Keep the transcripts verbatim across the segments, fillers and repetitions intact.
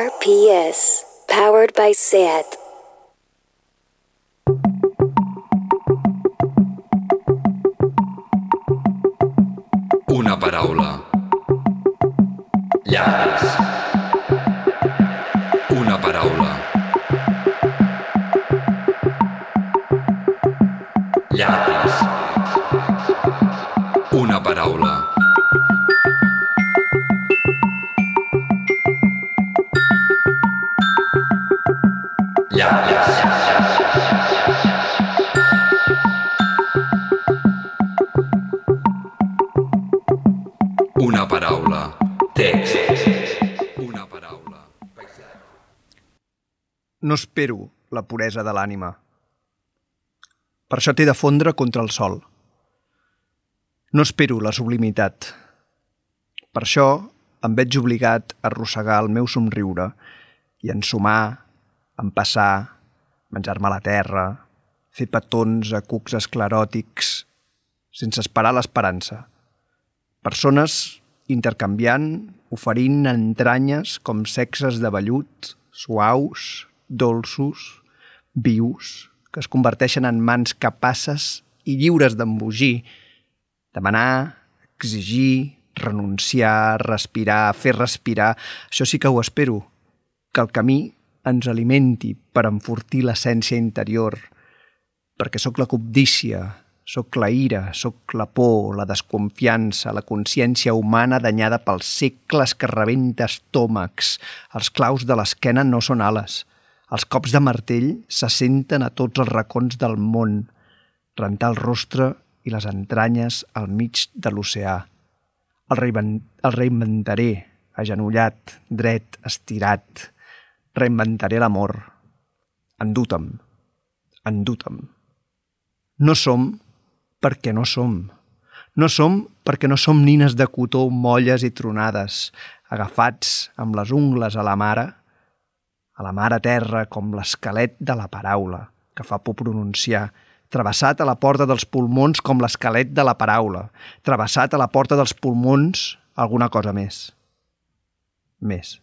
R P S, powered by S E A T. Una paraula. Llapis. Una paraula. Llapis. Una paraula. Llapis. Una paraula. Text. Una paraula. No espero la puresa de l'ànima. Per això t'he de fondre contra el sol. No espero la sublimitat. Per això em veig obligat a arrossegar el meu somriure i ensumar, empassar, menjar-me la terra, fer petons a cucs escleròtics, sense esperar l'esperança. Persones intercanviant, oferint entranyes com sexes de vellut, suaus, dolços, vius, que es converteixen en mans capaces i lliures d'embogir, demanar, exigir, renunciar, respirar, fer respirar. Això sí que ho espero, que el camí ens alimenti per enfortir l'essència interior, perquè sóc la cobdícia, sóc la ira, sóc la por, la desconfiança, la consciència humana danyada pels segles que rebenta estómacs. Els claus de l'esquena no són ales. Els cops de martell se senten a tots els racons del món, rentar el rostre i les entranyes al mig de l'oceà. El, reinvent, el reinventaré, agenollat, dret, estirat. Reinventaré l'amor. Endú-te'm, endú-te'm. No som perquè no som. No som perquè no som nines de cotó molles i tronades, agafats amb les ungles a la mare, a la mare terra com l'esquelet de la paraula, que fa por pronunciar, travessat a la porta dels pulmons com l'esquelet de la paraula, travessat a la porta dels pulmons alguna cosa més. Més.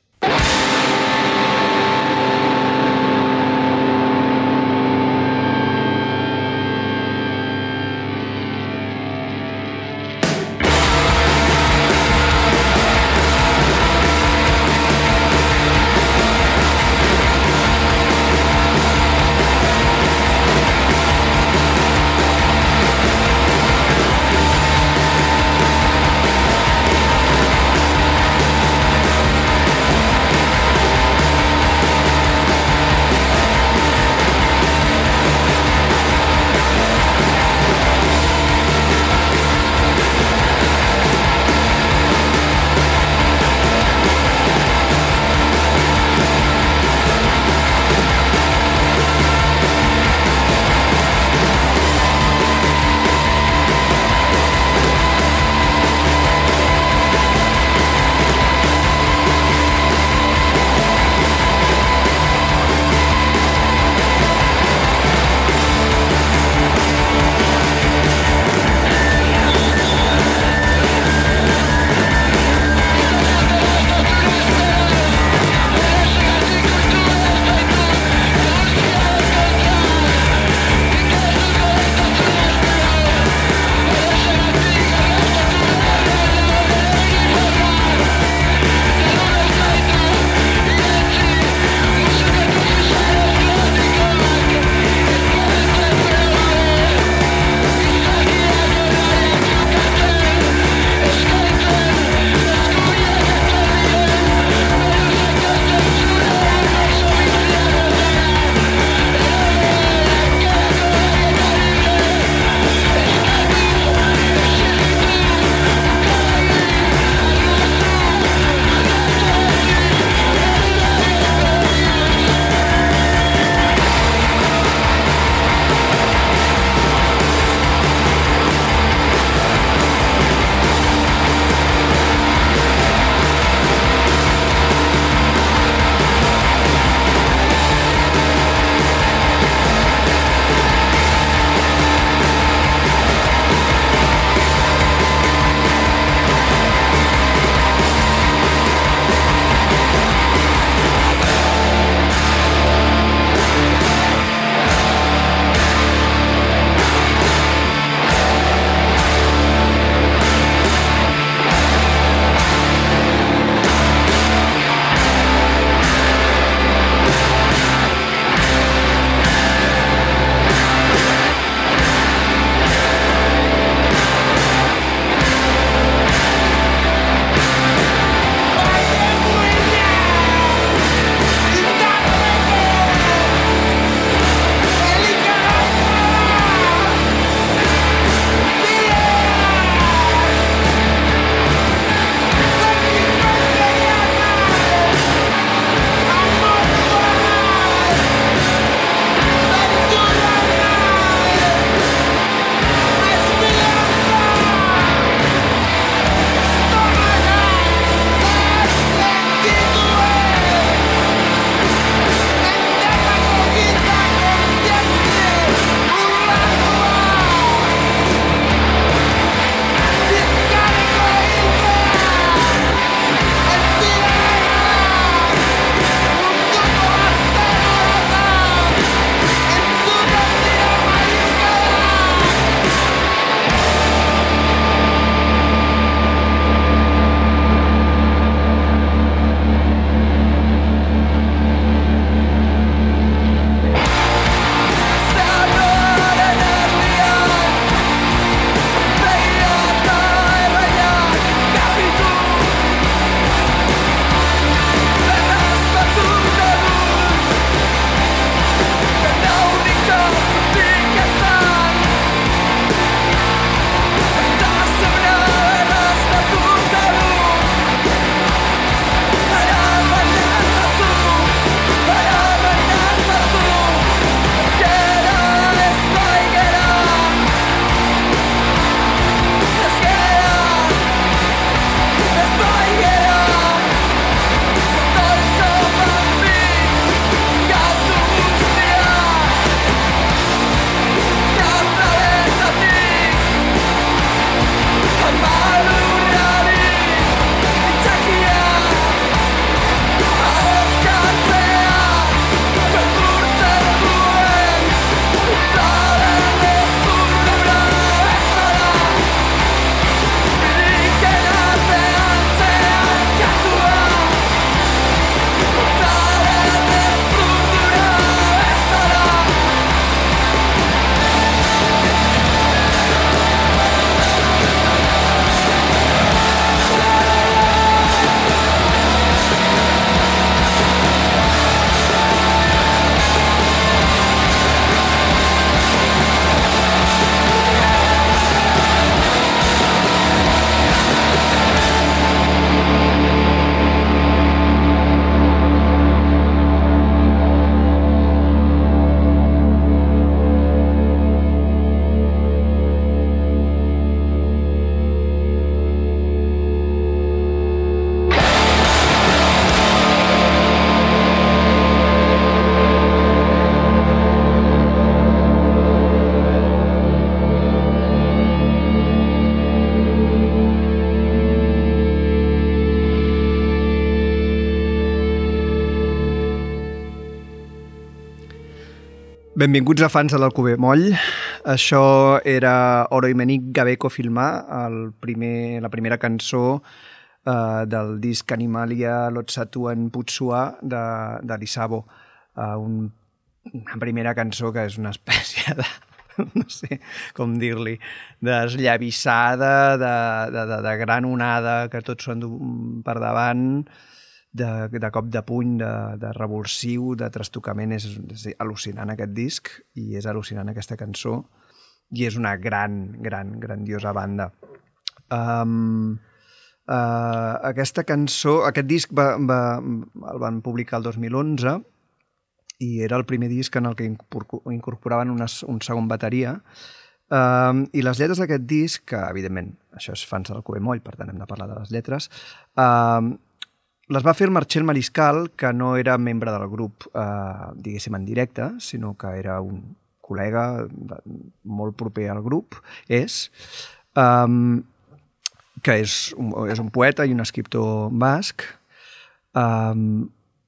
Benvinguts a fans de l'Alcover Moll. Això era Oro i Menic Gabeko Filmar, el primer, la primera cançó eh, del disc Animalia Lotsatuen Putsua de, de l'Isabo. Eh, un, una primera cançó que és una espècie de, no sé com dir-li, d'esllavissada, de, de, de, de gran onada, que tots són per davant, de, de cop de puny, de, de revulsiu, de trastocament. És, és al·lucinant aquest disc i és al·lucinant aquesta cançó i és una gran, gran, grandiosa banda. Um, uh, aquesta cançó, aquest disc va, va, el van publicar el dos mil onze i era el primer disc en el que incorporaven una, un segon bateria. Um, I les lletres d'aquest disc, que evidentment això és fans del Alcover Moll, per tant hem de parlar de les lletres, um, les va fer el Marcel Mariscal, que no era membre del grup, eh, diguéssim, en directe, sinó que era un col·lega de, molt proper al grup, és, um, que és un, és un poeta i un escriptor basc, um,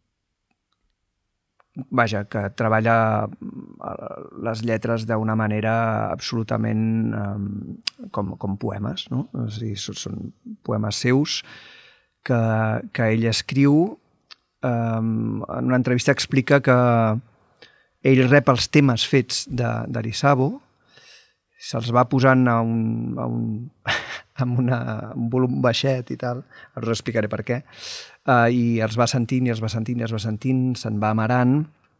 vaja, que treballa les lletres d'una manera absolutament um, com, com poemes, no? És a dir, són poemes seus, que, que ell escriu. Um, en una entrevista explica que ell rep els temes fets de, de l'Isabo, se'ls va posant a un, a un, amb una, un volum baixet i tal, us explicaré per què, uh, i els va sentint i els va sentint i els va sentint, se'n va amarant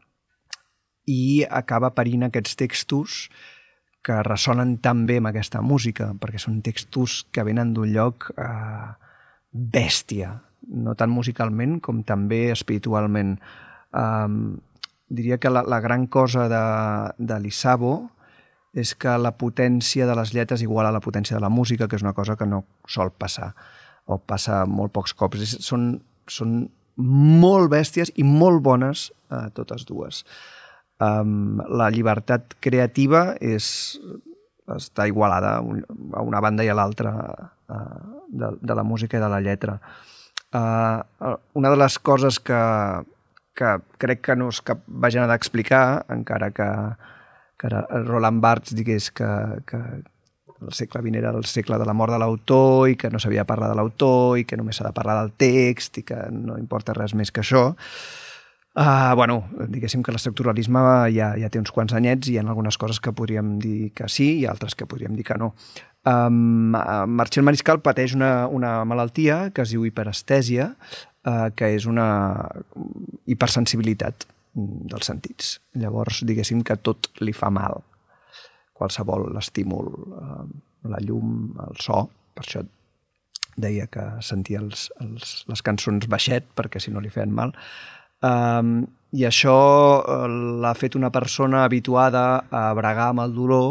i acaba parint aquests textos que ressonen tan bé amb aquesta música, perquè són textos que venen d'un lloc eh, bèstia, no tant musicalment com també espiritualment. Um, diria que la, la gran cosa de, de l'Isabo és que la potència de les lletres iguala la potència de la música, que és una cosa que no sol passar, o passa molt pocs cops. És, són, són molt bèsties i molt bones eh, totes dues. Um, la llibertat creativa és, està igualada a una banda i a l'altra uh, de, de la música i de la lletra. Uh, una de les coses que, que crec que no és cap vagina d'explicar, encara que, que Roland Barthes digués que, que el segle vint era el segle de la mort de l'autor i que no s'havia de parlar de l'autor i que només s'ha de parlar del text i que no importa res més que això. Uh, bueno, diguéssim que l'estructuralisme ja, ja té uns quants anyets i hi ha algunes coses que podríem dir que sí i altres que podríem dir que no. Um, Marcel Mariscal pateix una, una malaltia que es diu hiperestèsia, uh, que és una hipersensibilitat dels sentits. Llavors, diguéssim que tot li fa mal. Qualsevol estímul, uh, la llum, el so, per això deia que sentia els, els, les cançons baixet, perquè si no li feien mal. Um, I això l'ha fet una persona habituada a bregar amb el dolor,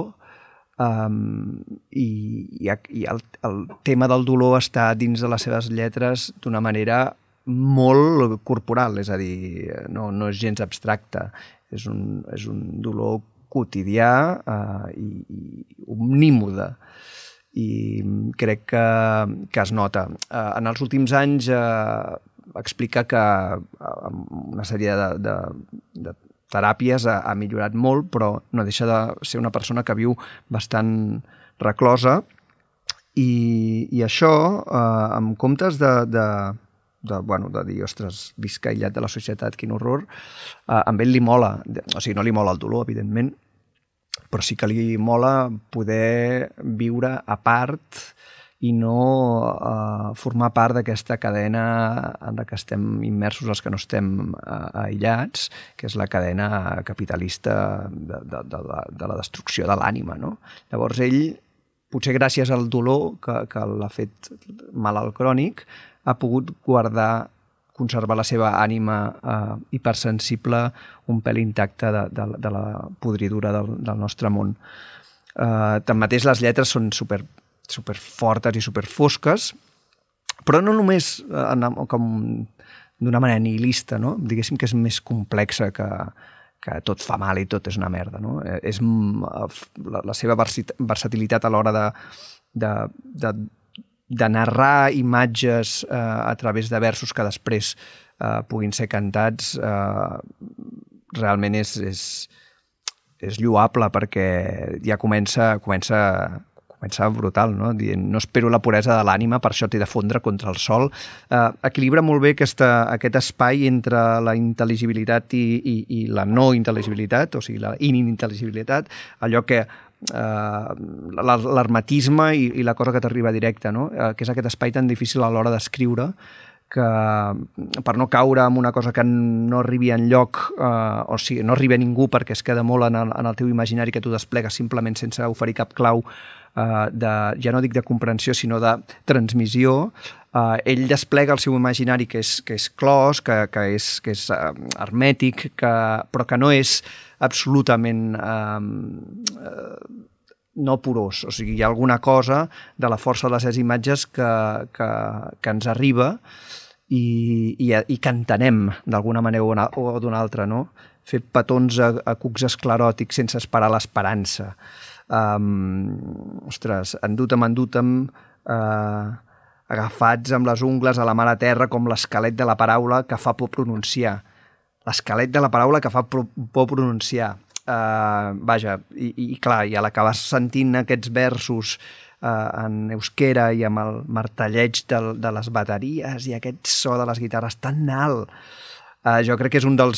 um, i, i, i el, el tema del dolor està dins de les seves lletres d'una manera molt corporal, és a dir, no, no és gens abstracte, és un, és un dolor quotidià uh, i, i omnímode. I crec que, que es nota. Uh, en els últims anys uh, explica que una sèrie de, de, de teràpies ha, ha millorat molt, però no deixa de ser una persona que viu bastant reclosa i, i això, eh, en comptes de, de, de, bueno, de dir, ostres, visca aïllat de la societat, quin horror, eh, amb ell li mola, o sigui, no li mola el dolor, evidentment, però sí que li mola poder viure a part i no uh, formar part d'aquesta cadena en la que estem immersos els que no estem uh, aïllats, que és la cadena capitalista de, de, de, la, de la destrucció de l'ànima, no? Llavors ell, potser gràcies al dolor que, que l'ha fet malalt crònic, ha pogut guardar, conservar la seva ànima uh, hipersensible un pèl intacte de, de, de la podridura del, del nostre món. Uh, tanmateix les lletres són super super fortes i super fosques, però no només en, com d'una manera nihilista, no? Diguéssim que és més complexa que, que tot fa mal i tot és una merda, no? És la, la seva versatilitat a l'hora de, de, de, de narrar imatges eh, a través de versos que després eh, puguin ser cantats, eh, realment és, és, és lloable perquè ja comença, comença, comença brutal, no? Dient, no espero la puresa de l'ànima, per això t'he de fondre contra el sol. Eh, equilibra molt bé aquesta, aquest espai entre la intel·ligibilitat i, i, i la no intel·ligibilitat, o sigui, la inintel·ligibilitat, allò que eh, l'hermetisme i, i la cosa que t'arriba directa, no? Eh, que és aquest espai tan difícil a l'hora d'escriure, que per no caure en una cosa que no arribi enlloc, eh, o sigui, no arribi a ningú perquè es queda molt en el, en el teu imaginari que tu desplegues simplement sense oferir cap clau, eh, de, ja no dic de comprensió, sinó de transmissió, eh, ell desplega el seu imaginari que és, que és clos, que, que és, que és eh, hermètic, que, però que no és absolutament eh, eh, no porós. O sigui, hi ha alguna cosa de la força de les seves imatges que, que, que ens arriba i, i, i que entenem d'alguna manera o d'una altra, no? Fer petons a, a cucs escleròtics sense esperar l'esperança. Um, ostres, endútem, endútem, uh, agafats amb les ungles a la mare terra com l'esquelet de la paraula que fa por pronunciar. L'esquelet de la paraula que fa por pronunciar. Uh, vaja, i, i clar, i a l'acabar sentint aquests versos uh, en euskera i amb el martelleig de, de les bateries i aquest so de les guitarres tan alt, uh, jo crec que és un dels,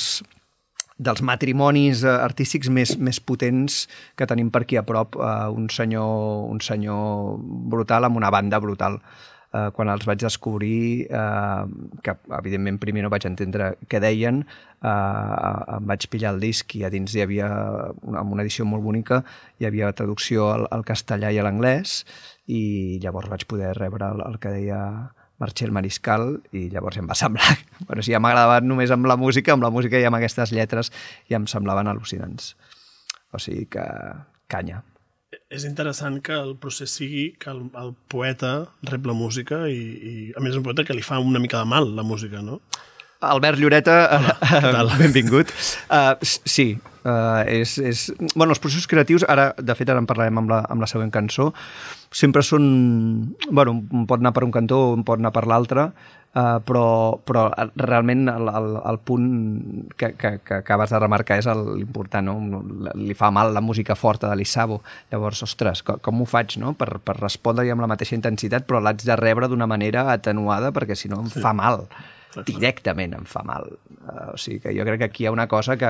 dels matrimonis artístics més, més potents que tenim per aquí a prop, uh, un senyor, un senyor brutal amb una banda brutal. Uh, quan els vaig descobrir, uh, que evidentment primer no vaig entendre què deien, uh, em vaig pillar el disc i a dins hi havia, una, amb una edició molt bonica, hi havia traducció al, al castellà i a l'anglès, i llavors vaig poder rebre el, el que deia Marcel Mariscal, i llavors em va semblar... Bueno, si ja m'agradava només amb la música, amb la música i amb aquestes lletres ja em semblaven al·lucinants. O sigui que canya. És interessant que el procés sigui que el, el poeta rep la música i, i a més és un poeta que li fa una mica de mal la música, no? Albert Lloreta, Hola, benvingut. Uh, sí, uh, és, és... Bueno, els processos creatius, ara, de fet, ara en parlarem amb la, amb la següent cançó, sempre són... Bueno, un pot anar per un cantó, un pot anar per l'altre, uh, però, però realment el, el, el punt que, que, que acabes de remarcar és l'important, no? Li fa mal la música forta de l'Issabo. Llavors, ostres, com, com ho faig, no? Per, per respondre-hi amb la mateixa intensitat, però l'haig de rebre d'una manera atenuada perquè si no em Sí. fa mal. Directament em fa mal. Uh, o sigui que jo crec que aquí hi ha una cosa que,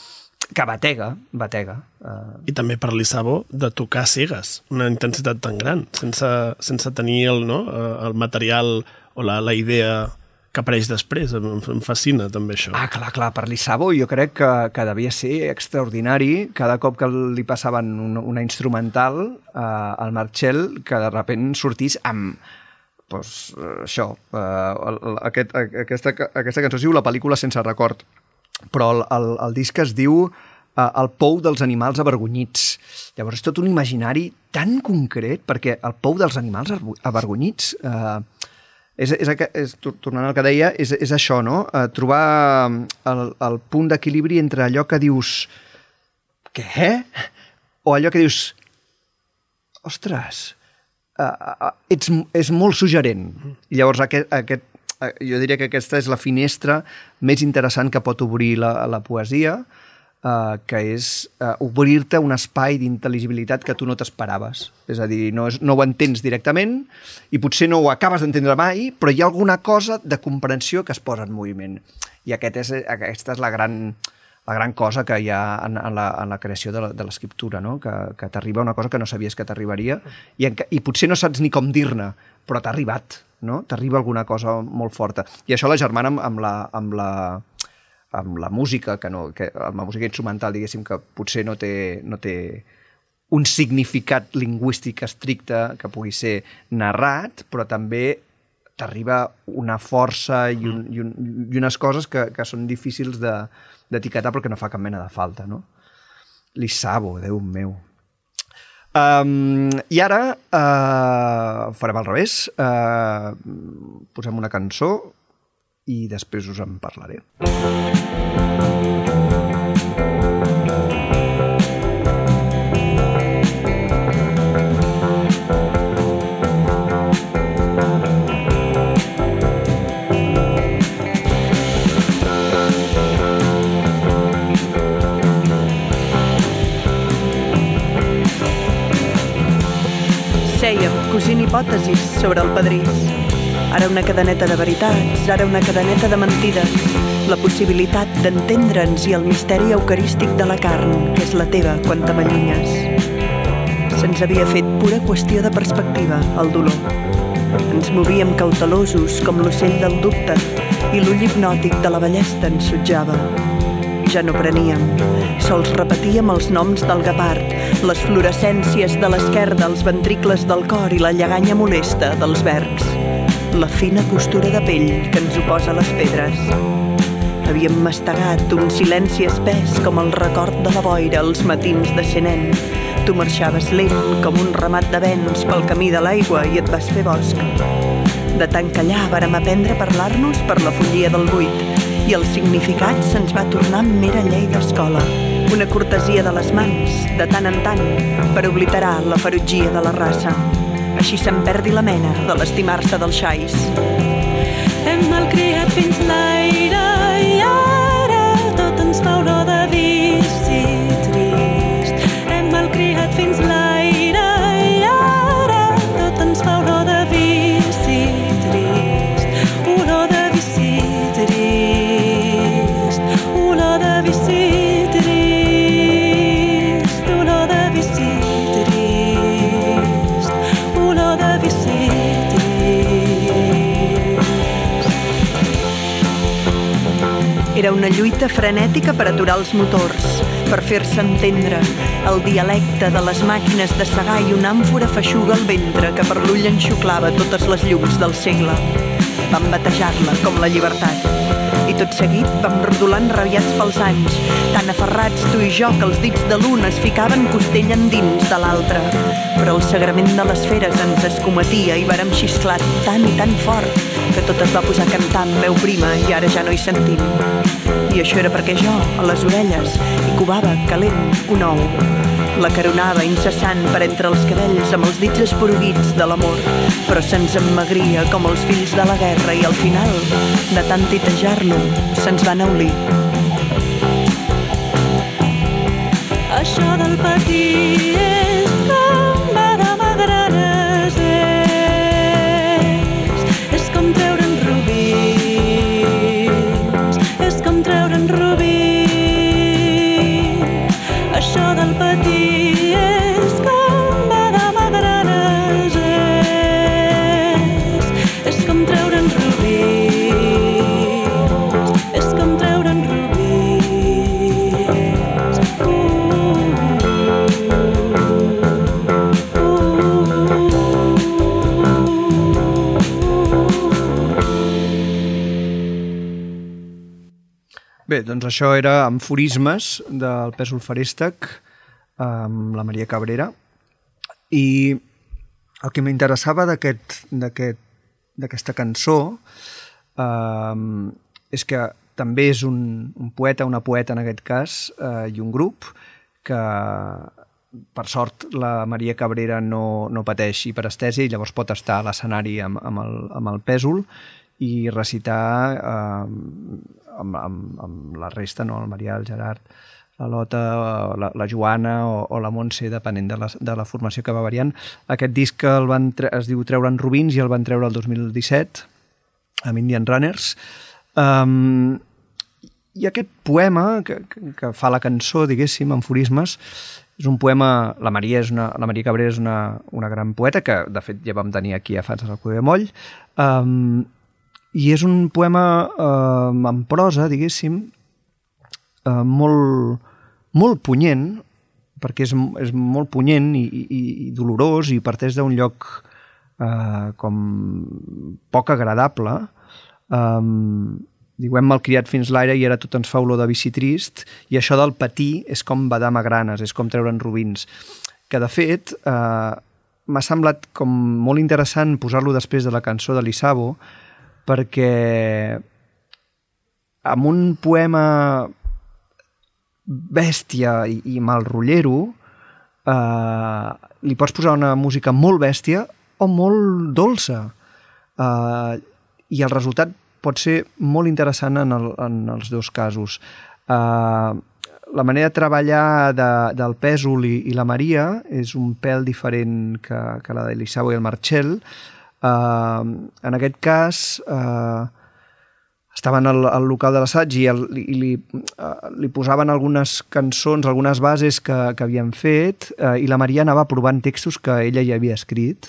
que batega, batega. Uh... I també per l'Issabo de tocar cegues, una intensitat tan gran, sense, sense tenir el, no, el material o la, la idea que apareix després. Em, em fascina també això. Ah, clar, clar, per l'Issabo jo crec que, que devia ser extraordinari cada cop que li passaven una, una instrumental uh, al Marcel, que de repent sortís amb... Pues, això, uh, aquest, aquesta, aquesta cançó es diu La pel·lícula sense record, però el, el, el disc es diu uh, El pou dels animals avergonyits. Llavors és tot un imaginari tan concret, perquè el pou dels animals avergonyits, uh, és, és, és, tornant al que deia, és, és això, no? Uh, trobar el, el punt d'equilibri entre allò que dius què? O allò que dius ostres... Uh, uh, ets, és molt suggerent. I llavors aquest, aquest, uh, jo diria que aquesta és la finestra més interessant que pot obrir la, la poesia, uh, que és uh, obrir-te un espai d'intel·ligibilitat que tu no t'esperaves. És a dir, no, és, no ho entens directament i potser no ho acabes d'entendre mai, però hi ha alguna cosa de comprensió que es posa en moviment. I aquest és, aquesta és la gran... la gran cosa que hi ha en, en, la, en la creació de, la, de l'escriptura, no? que, que t'arriba una cosa que no sabies que t'arribaria i, en, i potser no saps ni com dir-ne, però t'ha arribat, no? T'arriba alguna cosa molt forta. I això la germana amb, amb, la, amb, la, amb la música, que no, que, amb la música instrumental, diguéssim, que potser no té, no té un significat lingüístic estricte que pugui ser narrat, però també t'arriba una força i, un, i, un, i unes coses que, que són difícils de d'etiquetar perquè no fa cap mena de falta, no? L'Issabo, Déu meu. Um, I ara uh, farem al revés. Uh, posem una cançó i després us en parlaré. cosint hipòtesis sobre el pedrís. Ara una cadeneta de veritats, ara una cadeneta de mentides. La possibilitat d'entendre'ns i el misteri eucarístic de la carn, que és la teva quan te m'allunyes. Se'ns havia fet pura qüestió de perspectiva, el dolor. Ens movíem cautelosos com l'ocell del dubte i l'ull hipnòtic de la ballesta ens sotjava. Ja no preníem, sols repetíem els noms del guepard, les fluorescències de l'esquerda, els ventricles del cor i la lleganya molesta dels verbs. La fina costura de pell que ens oposa a les pedres. Havíem mastegat un silenci espès com el record de la boira als matins de ser nen. Tu marxaves lent com un ramat de vents pel camí de l'aigua i et vas fer bosc. De tant callar vàrem aprendre a parlar-nos per la follia del buit i el significat se'ns va tornar mera llei d'escola. Una cortesia de les mans, de tant en tant, per obliterar la ferotgia de la raça. Així se'n perdi la mena de l'estimar-se dels xais. Hem malcriat fins l'aire i ara tot ens fa olor de vici trist. Hem malcriat fins l'aire i ara tot ens fa olor de vici trist. Olor de vici trist. Olor de vici trist. Olor de vici trist. Olor de vici Era una lluita frenètica per aturar els motors, per fer-se entendre, el dialecte de les màquines de segar i una àmfora feixuga al ventre que per l'ull enxuclava totes les llums del segle. Vam batejar-la com la llibertat. I tot seguit vam rodolant rabiats pels anys, tan aferrats tu i jo que els dits de l'un es ficaven costell endins de l'altre. Però el sagrament de les feres ens escometia i vàrem xisclar tan i tan fort que tot es va posar a cantar amb veu prima i ara ja no hi sentim. I això era perquè jo, a les orelles, hi covava, calent, un ou. La caronava incessant per entre els cabells amb els dits esporuguits de l'amor, però se'ns emmagria com els fills de la guerra i al final, de tant titejar-lo, se'ns va enaulir. Això del patir és com badar magranes, és, és com treure'n rubins, és com treure'n rubins. Això del patir és com badar magranes, és, és com treure'n rubins, és com treure'n rubins. Bé, doncs això era Amforismes del Pèsol Feréstec amb la Maria Cabrera i el que m'interessava d'aquest d'aquest d'aquesta cançó eh, és que també és un, un poeta, una poeta en aquest cas, eh, i un grup que per sort la Maria Cabrera no, no pateix hiperestèsia i llavors pot estar a l'escenari amb, amb, el, amb el Pèsol i recitar eh, amb, amb, amb la resta, no? El Marià, el Gerard, la Lota, la, la Joana o, o la Montse, depenent de la, de la formació que va variant. Aquest disc el van tre es diu Treure'n Rubins i el van treure el dos mil disset amb Indian Runners. Um, I aquest poema que, que fa la cançó, diguéssim, Amforismes, és un poema... La Maria, és una, la Maria Cabrera és una, una gran poeta que, de fet, ja vam tenir aquí a Fans del Cuber Moll. Um, I és un poema eh, en prosa, diguéssim, eh, molt, molt punyent, perquè és, és molt punyent i, i, i dolorós i parteix d'un lloc eh, com poc agradable. Eh, diu, hem malcriat fins l'aire i ara tot ens fa olor de vici trist, i això del patir és com badar magranes, és com treure'n rubins, que de fet eh, m'ha semblat com molt interessant posar-lo després de la cançó de l'Isabo, perquè amb un poema bèstia i, i malrotllero eh, li pots posar una música molt bèstia o molt dolça eh, i el resultat pot ser molt interessant en, el, en els dos casos. Eh, la manera de treballar de, del Pèsol i, i la Maria és un pèl diferent que, que la de l'Isao i el Marcel. Uh, en aquest cas, uh, estaven al, al local de l'assaig i, el, i li, uh, li posaven algunes cançons, algunes bases que, que havien fet, uh, i la Maria anava provant textos que ella ja havia escrit.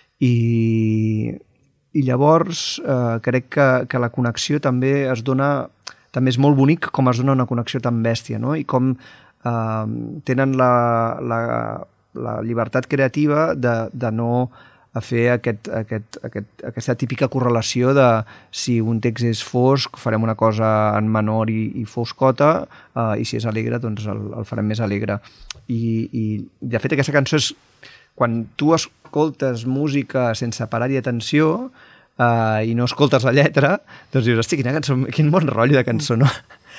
I, i llavors uh, crec que, que la connexió també es dona... també és molt bonic com es dona una connexió tan bèstia, no? I com eh, tenen la, la, la llibertat creativa de, de no fer aquest, aquest, aquest, aquesta típica correlació de si un text és fosc, farem una cosa en menor i, i foscota, eh, i si és alegre, doncs el, el farem més alegre. I, i de fet aquesta cançó és... Quan tu escoltes música sense parar-hi atenció, Uh, i no escoltes la lletra, doncs dius, hosti, quina cançó, quin bon rotllo de cançó, no?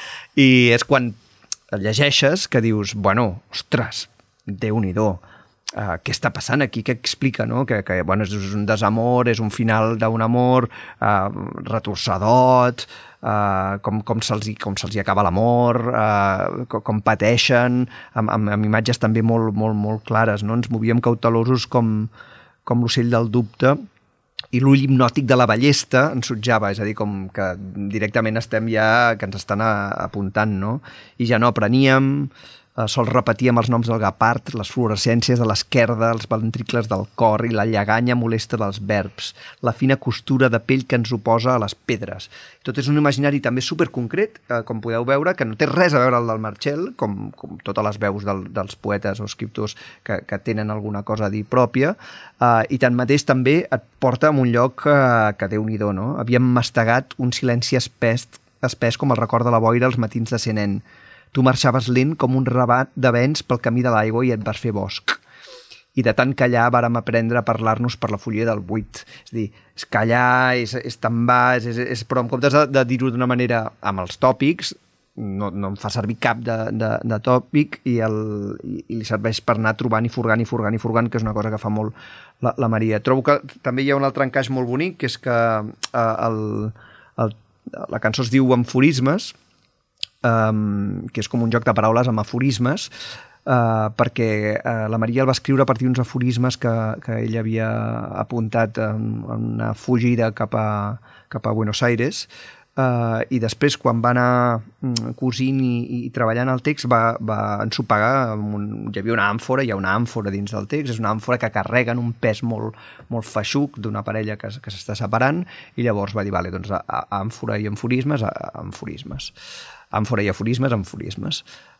I és quan el llegeixes que dius, bueno, ostres, Déu-n'hi-do, uh, què està passant aquí, què explica, no? Que, que bueno, és un desamor, és un final d'un amor uh, retorçadot, uh, com, com se'ls com se'ls acaba l'amor, uh, com, com pateixen, amb, amb, amb imatges també molt, molt, molt clares, no? Ens movíem cautelosos com, com l'ocell del dubte, i l'ull hipnòtic de la ballesta ens sutjava, és a dir, com que directament estem ja, que ens estan apuntant, no? I ja no apreníem, eh, sols repetíem els noms del gapard, les fluorescències de l'esquerda, els ventricles del cor i la lleganya molesta dels verbs, la fina costura de pell que ens oposa a les pedres. Tot és un imaginari també superconcret, eh, com podeu veure, que no té res a veure el del Marcel, com, com totes les veus del, dels poetes o escriptors que, que tenen alguna cosa a dir pròpia, eh, i tanmateix també et porta a un lloc eh, que Déu-n'hi-do, no? Havíem mastegat un silenci espès, espès com el record de la boira als matins de ser nen. Tu marxaves lent com un rabat de vents pel camí de l'aigua i et vas fer bosc. I de tant callar vàrem aprendre a parlar-nos per la folia del buit. És a dir, és callar, és, és tan bas, és, és, però en comptes de, de dir-ho d'una manera amb els tòpics, no, no em fa servir cap de, de, de tòpic i, el, i, i li serveix per anar trobant i furgant i furgant i furgant, que és una cosa que fa molt la, la Maria. Trobo que també hi ha un altre encaix molt bonic, que és que eh, el, el, la cançó es diu Aforismes, Um, que és com un joc de paraules amb aforismes, uh, perquè uh, la Maria el va escriure a partir d'uns aforismes que, que ell havia apuntat en, en una fugida cap a, cap a Buenos Aires, uh, i després quan va anar um, cosint i, i treballant el text va, va ensopegar, un, hi havia una àmfora, hi ha una àmfora dins del text, és una àmfora que carrega en un pes molt, molt feixuc d'una parella que, que s'està separant, i llavors va dir, vale, doncs a, a àmfora i aforismes, a, a aforismes. Àmfora i aforismes, aforismes.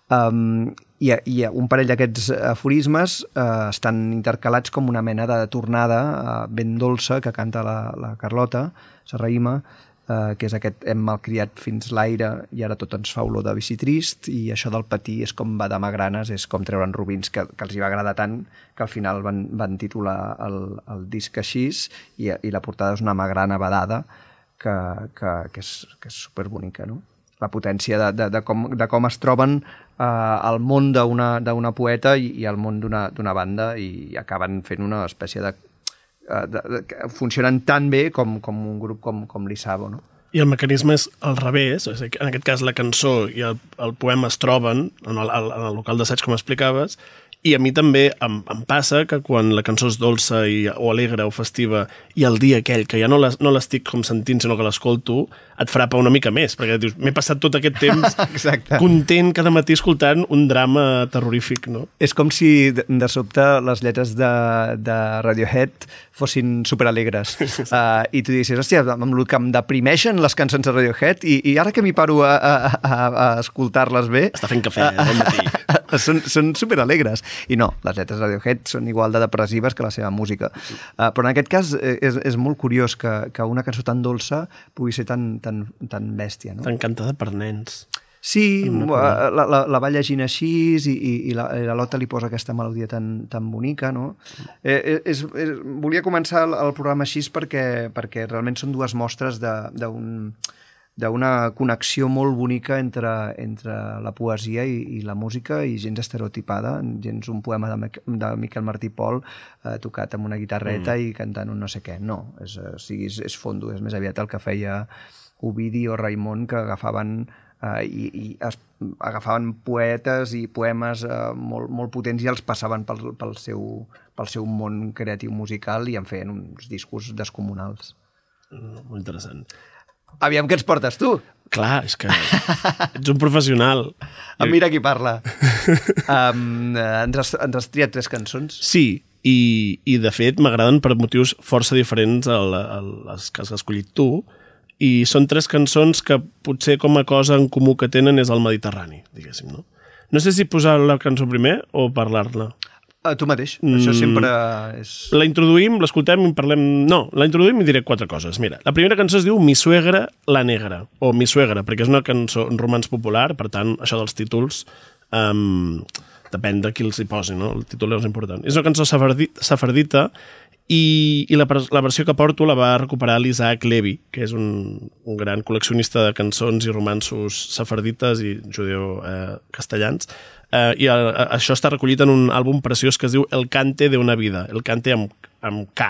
Um, i, I un parell d'aquests aforismes uh, estan intercalats com una mena de tornada uh, ben dolça que canta la, la Carlota Serrahima, uh, que és aquest hem malcriat fins l'aire i ara tot ens fa olor de bici trist, i això del patir és com va de magranes, és com treure'n robins, que, que els hi va agradar tant que al final van, van titular el, el disc així, i, i la portada és una magrana badada que, que, que, és, que és superbonica, no? La potència de, de, de, com, de com es troben eh, el món d'una poeta i, i el món d'una banda, i acaben fent una espècie de... Eh, de, de funcionen tan bé com, com un grup com, com l'Isabo, no? I el mecanisme és al revés, és a dir, en aquest cas la cançó i el, el poema es troben en el, en el local d'assaig, com explicaves, i a mi també em, em passa que quan la cançó és dolça i, o alegre o festiva, i el dia aquell que ja no l'estic com sentint, sinó que l'escolto, et frapa una mica més, perquè dius, m'he passat tot aquest temps content cada matí escoltant un drama terrorífic, no? És com si de, de sobte les lletres de, de Radiohead fossin superalegres. uh, I tu dius, hòstia, amb el que em deprimeixen les cançons de Radiohead, i, i ara que m'hi paro a, a, a, a escoltar-les bé... Està fent cafè uh, al matí. són, són superalegres. I no, les lletres de Radiohead són igual de depressives que la seva música. Uh, però en aquest cas és, és molt curiós que, que una cançó tan dolça pugui ser tan, tan, tan bèstia, no? Tan cantada per nens. Sí, la, la, la va llegint així i, i, i, la, i la Lota li posa aquesta melodia tan, tan bonica, no? Eh, és, és, volia començar el, el programa així perquè, perquè realment són dues mostres d'un... d'una connexió molt bonica entre, entre la poesia i, i la música, i gens estereotipada, gens un poema de, de Miquel Martí Pol eh, tocat amb una guitarreta mm. i cantant un no sé què. No, és, o sigui, és, és fondo, és més aviat el que feia Ovidi o Raimon, que agafaven uh, i, i es, agafaven poetes i poemes uh, molt, molt potents i els passaven pel, pel, seu, pel seu món creatiu musical i en feien uns discos descomunals. Mm, molt interessant. Aviam què ens portes tu? Clar, és que ets un professional. Ah, mira qui parla. um, ens, has, ens has triat tres cançons? Sí, i, i de fet m'agraden per motius força diferents a, la, a les que has escollit tu, i són tres cançons que potser com a cosa en comú que tenen és el Mediterrani, diguéssim, no? No sé si posar la cançó primer o parlar-la. Uh, tu mateix, mm. això sempre és... La introduïm, l'escoltem i en parlem... No, la introduïm i diré quatre coses. Mira, la primera cançó es diu Mi suegra la negra, o Mi suegra, perquè és una cançó en romans popular, per tant, això dels títols um, depèn de qui els hi posi, no? El títol és important. És una cançó safardita i, i la, la versió que porto la va recuperar l'Isaac Levi, que és un, un gran col·leccionista de cançons i romansos safardites i judeo-castellans, eh, Uh, i a, a, això està recollit en un àlbum preciós que es diu El cante de una vida, el cante amb, amb K.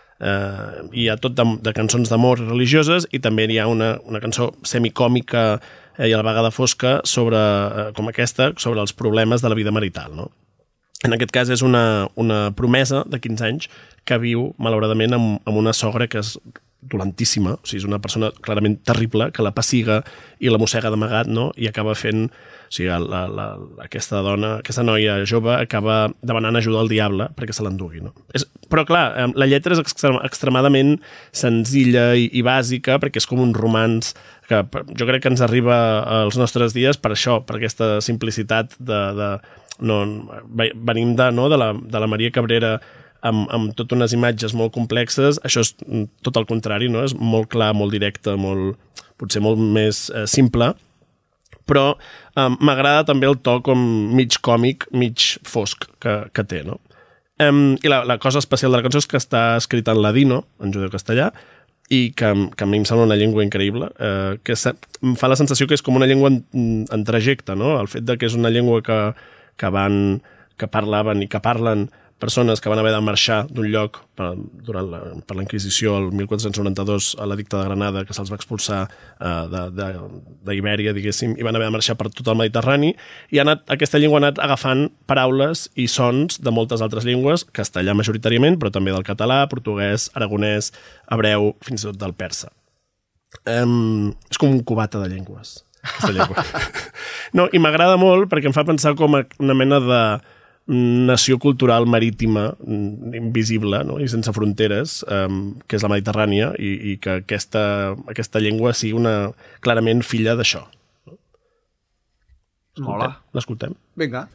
Uh, hi ha tot de, de cançons d'amor religioses i també hi ha una, una cançó semicòmica eh, i a la vegada fosca sobre, uh, com aquesta, sobre els problemes de la vida marital, no? En aquest cas és una, una promesa de quinze anys que viu, malauradament, amb, amb una sogra que és dolentíssima, o sigui, és una persona clarament terrible, que la passiga i la mossega d'amagat, no? I acaba fent... O sigui, la, la, aquesta dona, aquesta noia jove acaba demanant ajuda al diable perquè se l'endugui, no? És, però, clar, la lletra és extrem, extremadament senzilla i, i bàsica perquè és com un romanç que jo crec que ens arriba als nostres dies per això, per aquesta simplicitat de... de no, venim de, no, de, la, de la Maria Cabrera amb, amb tot unes imatges molt complexes, això és tot el contrari, no? És molt clar, molt directe, molt, potser molt més eh, simple, però um, m'agrada també el to com mig còmic, mig fosc que, que té, no? Um, I la, la cosa especial de la cançó és que està escrita en ladino, en judeu-castellà, i que, que a mi em sembla una llengua increïble, eh, que se, em fa la sensació que és com una llengua en, en trajecte, no? El fet de que és una llengua que, que, van, que parlaven i que parlen persones que van haver de marxar d'un lloc per, durant la, per la Inquisició el mil quatre-cents noranta-dos a l'edicte de Granada, que se'ls va expulsar uh, d'Ibèria, diguéssim, i van haver de marxar per tot el Mediterrani, i ha anat, aquesta llengua ha anat agafant paraules i sons de moltes altres llengües, castellà majoritàriament, però també del català, portuguès, aragonès, hebreu, fins i tot del persa. Um, és com un cubata de llengües, aquesta llengua. No, i m'agrada molt perquè em fa pensar com una mena de nació cultural marítima invisible, no? I sense fronteres, um, que és la Mediterrània, i, i que aquesta, aquesta llengua sigui una, clarament filla d'això. Mola. L'escoltem? Vinga.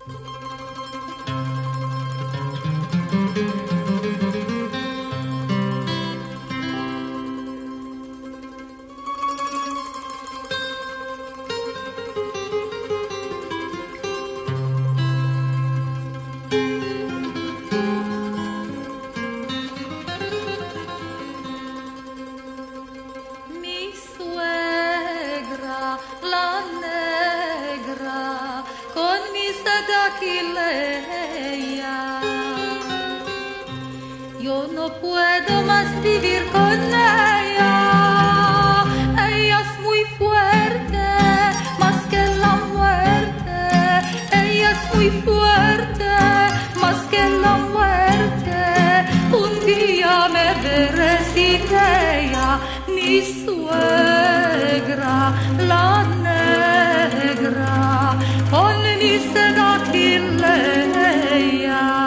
Yo no puedo más vivir con ella. Ella es muy fuerte, más que la muerte. Ella es muy fuerte, más que la muerte. Un día me veré sin ella, mi suegra, la negra, con mi seda Quileia.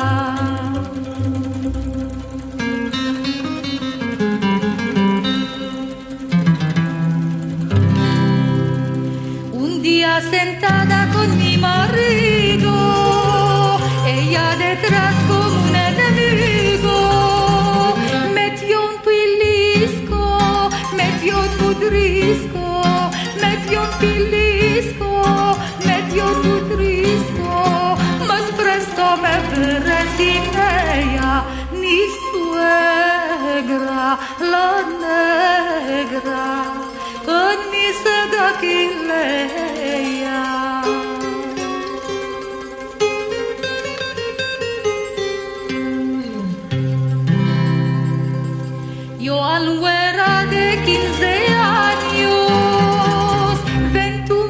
Sentada con mi marido, ella detrás como un enemigo, metió un pilisco, metió un pudrisco, metió un pilisco, metió un pudrisco, más presto me veré sin ella, mi suegra, la negra, con mi seda Quileia. Yo al güera de quince años, ventura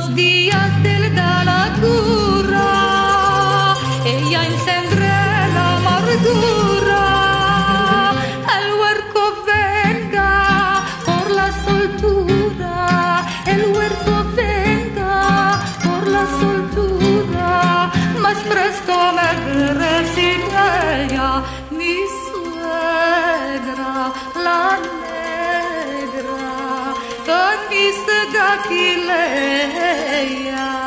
los días del da la cura, ella encendrá la amargura. El huerco venga por la soltura, el huerco venga por la soltura, más presto me recibirá mi suegra, la negra, camisa de Aquileia.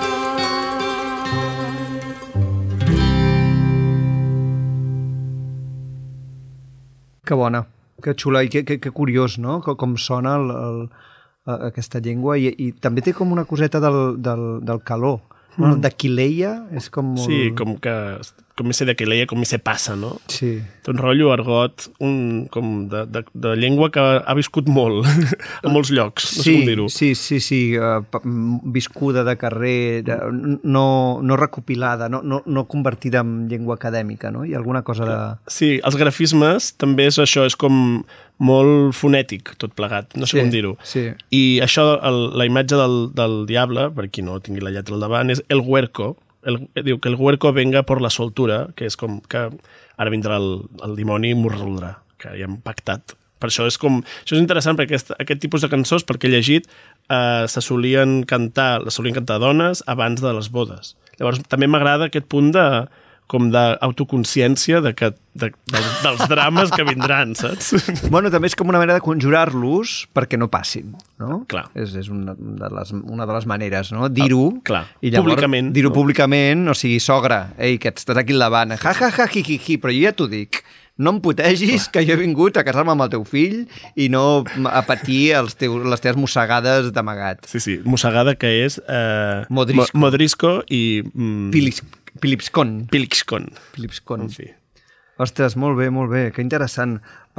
Que bona, que xula i que, que, que curiós, no? Com, com sona el, el, aquesta llengua i, i també té com una coseta del, del, del calor. Mm. Bueno, d'Aquileia és com molt... Sí, com que com mi se d'Aquileia, com mi se passa, no? Sí. Té un rotllo argot, un, com de, de, de llengua que ha viscut molt, a molts llocs, no sí, sé com dir-ho. Sí, sí, sí, uh, viscuda de carrer, de, no, no recopilada, no, no, no convertida en llengua acadèmica, no? Hi ha alguna cosa de... Sí, els grafismes també és això, és com molt fonètic, tot plegat, no sé sí, com dir-ho. Sí. I això, el, la imatge del, del diable, per qui no tingui la lletra al davant, és el huerco. El, diu que el huerco venga por la soltura, que és com que ara vindrà el, el dimoni i m'ho resoldrà, que ja hem pactat. Per això és com... Això és interessant perquè aquest, aquest tipus de cançons, perquè he llegit, eh, se solien cantar, les solien cantar dones abans de les bodes. Llavors també m'agrada aquest punt de com d'autoconsciència de que, de, dels, dels drames que vindran, saps? Bueno, també és com una manera de conjurar-los perquè no passin, no? Clar. És, és una, de les, una de les maneres, no? Dir-ho. Ah, clar. I llavors, públicament. Dir-ho no? públicament, o sigui, sogra, ei, que estàs aquí al davant, ja, ja, ja, hi, hi, hi, però jo ja t'ho dic. No em putegis, clar, que jo he vingut a casar-me amb el teu fill i no a patir els teus, les teves mossegades d'amagat. Sí, sí, mossegada que és... Eh, Modrisco. Mo Modrisco i... Mm, Pilis, Pilipskon. Pilipskon. Pilipskon. En fi. Ostres, molt bé, molt bé, que interessant.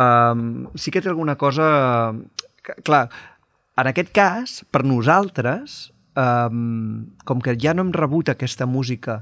Um, sí que té alguna cosa... Que, clar, en aquest cas, per nosaltres, um, com que ja no hem rebut aquesta música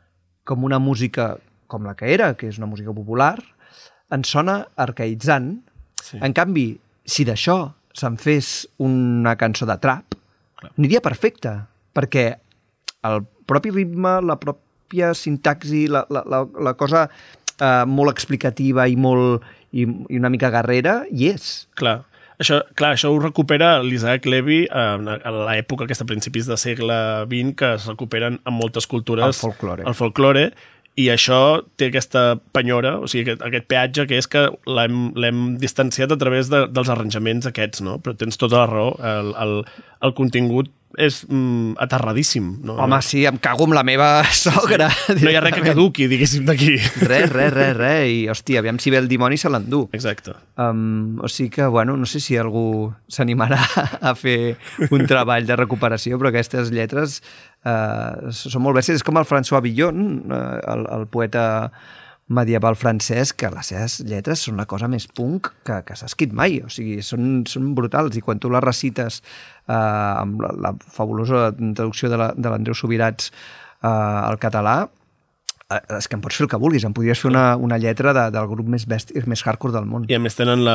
com una música com la que era, que és una música popular, ens sona arcaïtzant. Sí. En canvi, si d'això se'n fes una cançó de trap, clar, aniria perfecte, perquè el propi ritme, la pròpia sintaxi, la, la, la, la cosa eh, molt explicativa i, molt, i, i una mica guerrera, hi és. Clar. Això, clar, això ho recupera l'Isaac Levy a, a l'època aquesta, a principis del segle vint, que es recuperen en moltes cultures el folklore. el folklore, i això té aquesta penyora, o sigui, aquest, aquest peatge que és que l'hem distanciat a través de, dels arranjaments aquests, no? Però tens tota la raó, el, el, el contingut és mm, aterradíssim. No? Home, sí, em cago amb la meva sogra. Sí. No hi ha res que caduqui, diguéssim, d'aquí. Res, res, res, res. I, hòstia, aviam si ve el dimoni se l'endú. Exacte. Um, o sigui que, bueno, no sé si algú s'animarà a fer un treball de recuperació, però aquestes lletres uh, són molt bèsties. És com el François Villon, uh, el, el poeta medieval francès, que les seves lletres són la cosa més punk que, que s'ha escrit mai, o sigui, són, són brutals, i quan tu les recites eh, amb la, la fabulosa traducció de l'Andreu Subirats eh, al català, eh, és que em pots fer el que vulguis, em podries fer una, una lletra de, del grup més bèstia, més hardcore del món. I a més tenen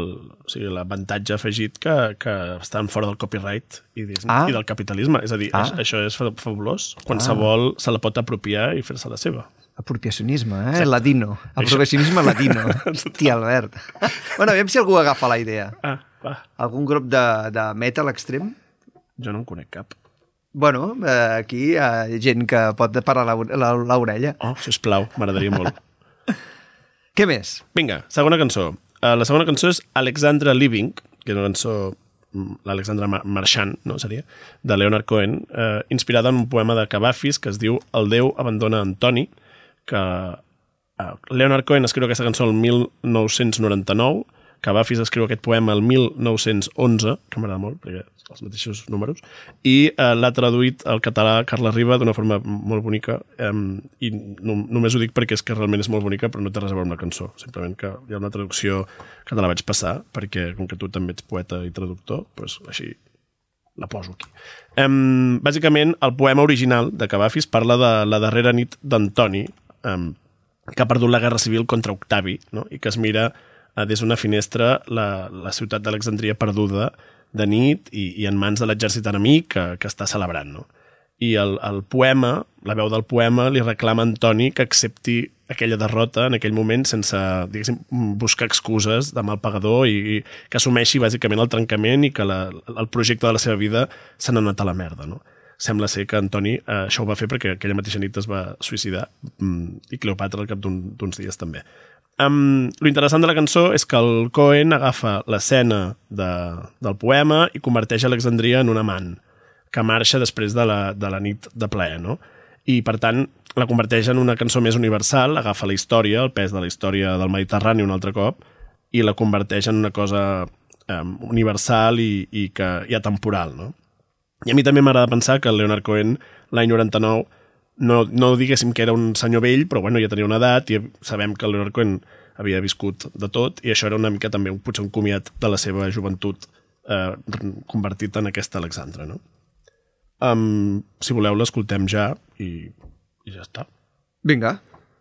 l'avantatge o sigui, afegit que, que estan fora del copyright i, ah. i del capitalisme, és a dir, ah. això és fabulós, qualsevol ah. se la pot apropiar i fer-se la seva. Apropiacionisme, eh? Exacte. Ladino. Apropiacionisme ladino. Tia Albert. Bueno, aviam si algú agafa la idea. Ah, va. Algun grup de, de metal extrem? Jo no en conec cap. Bueno, eh, aquí hi ha gent que pot parar l'orella. Oh, sisplau, m'agradaria molt. Què més? Vinga, segona cançó. Uh, la segona cançó és Alexandra Living, que és una cançó, l'Alexandra Marchand, no seria, de Leonard Cohen, uh, inspirada en un poema de Cavafis que es diu El Déu abandona Antoni, que uh, Leonard Cohen escriu aquesta cançó el mil nou-cents noranta-nou, Cavafis escriu aquest poema el mil nou-cents onze, que m'agrada molt, perquè els mateixos números, i uh, l'ha traduït al català Carla Riba d'una forma molt bonica, um, i no, només ho dic perquè és que realment és molt bonica, però no té res a veure amb la cançó, simplement que hi ha una traducció que te la vaig passar, perquè com que tu també ets poeta i traductor, doncs així la poso aquí. Um, bàsicament, el poema original de Cavafis parla de la darrera nit d'Antoni, um, que ha perdut la guerra civil contra Octavi, no? I que es mira uh, des d'una finestra la, la ciutat d'Alexandria perduda de nit i, i en mans de l'exèrcit enemic que, que està celebrant, no? I el, el poema, la veu del poema, li reclama a Antoni que accepti aquella derrota en aquell moment sense, diguéssim, buscar excuses de mal pagador i, i que assumeixi bàsicament el trencament i que la, el projecte de la seva vida s'ha anat a la merda, no? Sembla ser que Antoni eh, això ho va fer perquè aquella mateixa nit es va suïcidar mm, i Cleopatra al cap d'un, d'uns dies també. Um, lo interessant de la cançó és que el Cohen agafa l'escena de, del poema i converteix Alexandria en un amant que marxa després de la, de la nit de plaer, no? I, per tant, la converteix en una cançó més universal, agafa la història, el pes de la història del Mediterrani un altre cop, i la converteix en una cosa um, universal i, i, que, i atemporal, no? I a mi també m'agrada pensar que el Leonard Cohen, l'any noranta-nou, no, no diguéssim que era un senyor vell, però bueno, ja tenia una edat i sabem que el Leonard Cohen havia viscut de tot i això era una mica també potser un comiat de la seva joventut eh, convertit en aquesta Alexandra, no? Um, si voleu l'escoltem ja i, i ja està. Vinga.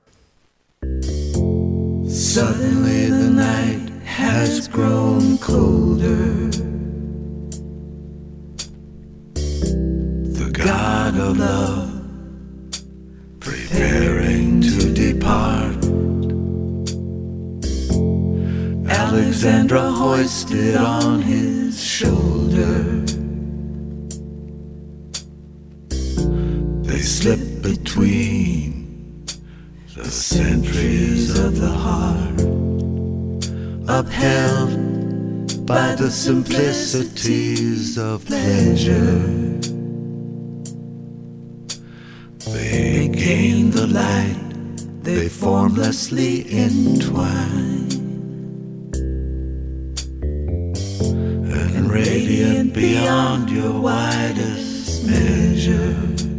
Suddenly the night has grown colder. The God of love preparing to depart. Alexandra hoisted on his shoulder. They slip between the centuries of the heart, upheld by the simplicities of pleasure. They gain the light, they formlessly entwine, and radiant beyond your widest measure.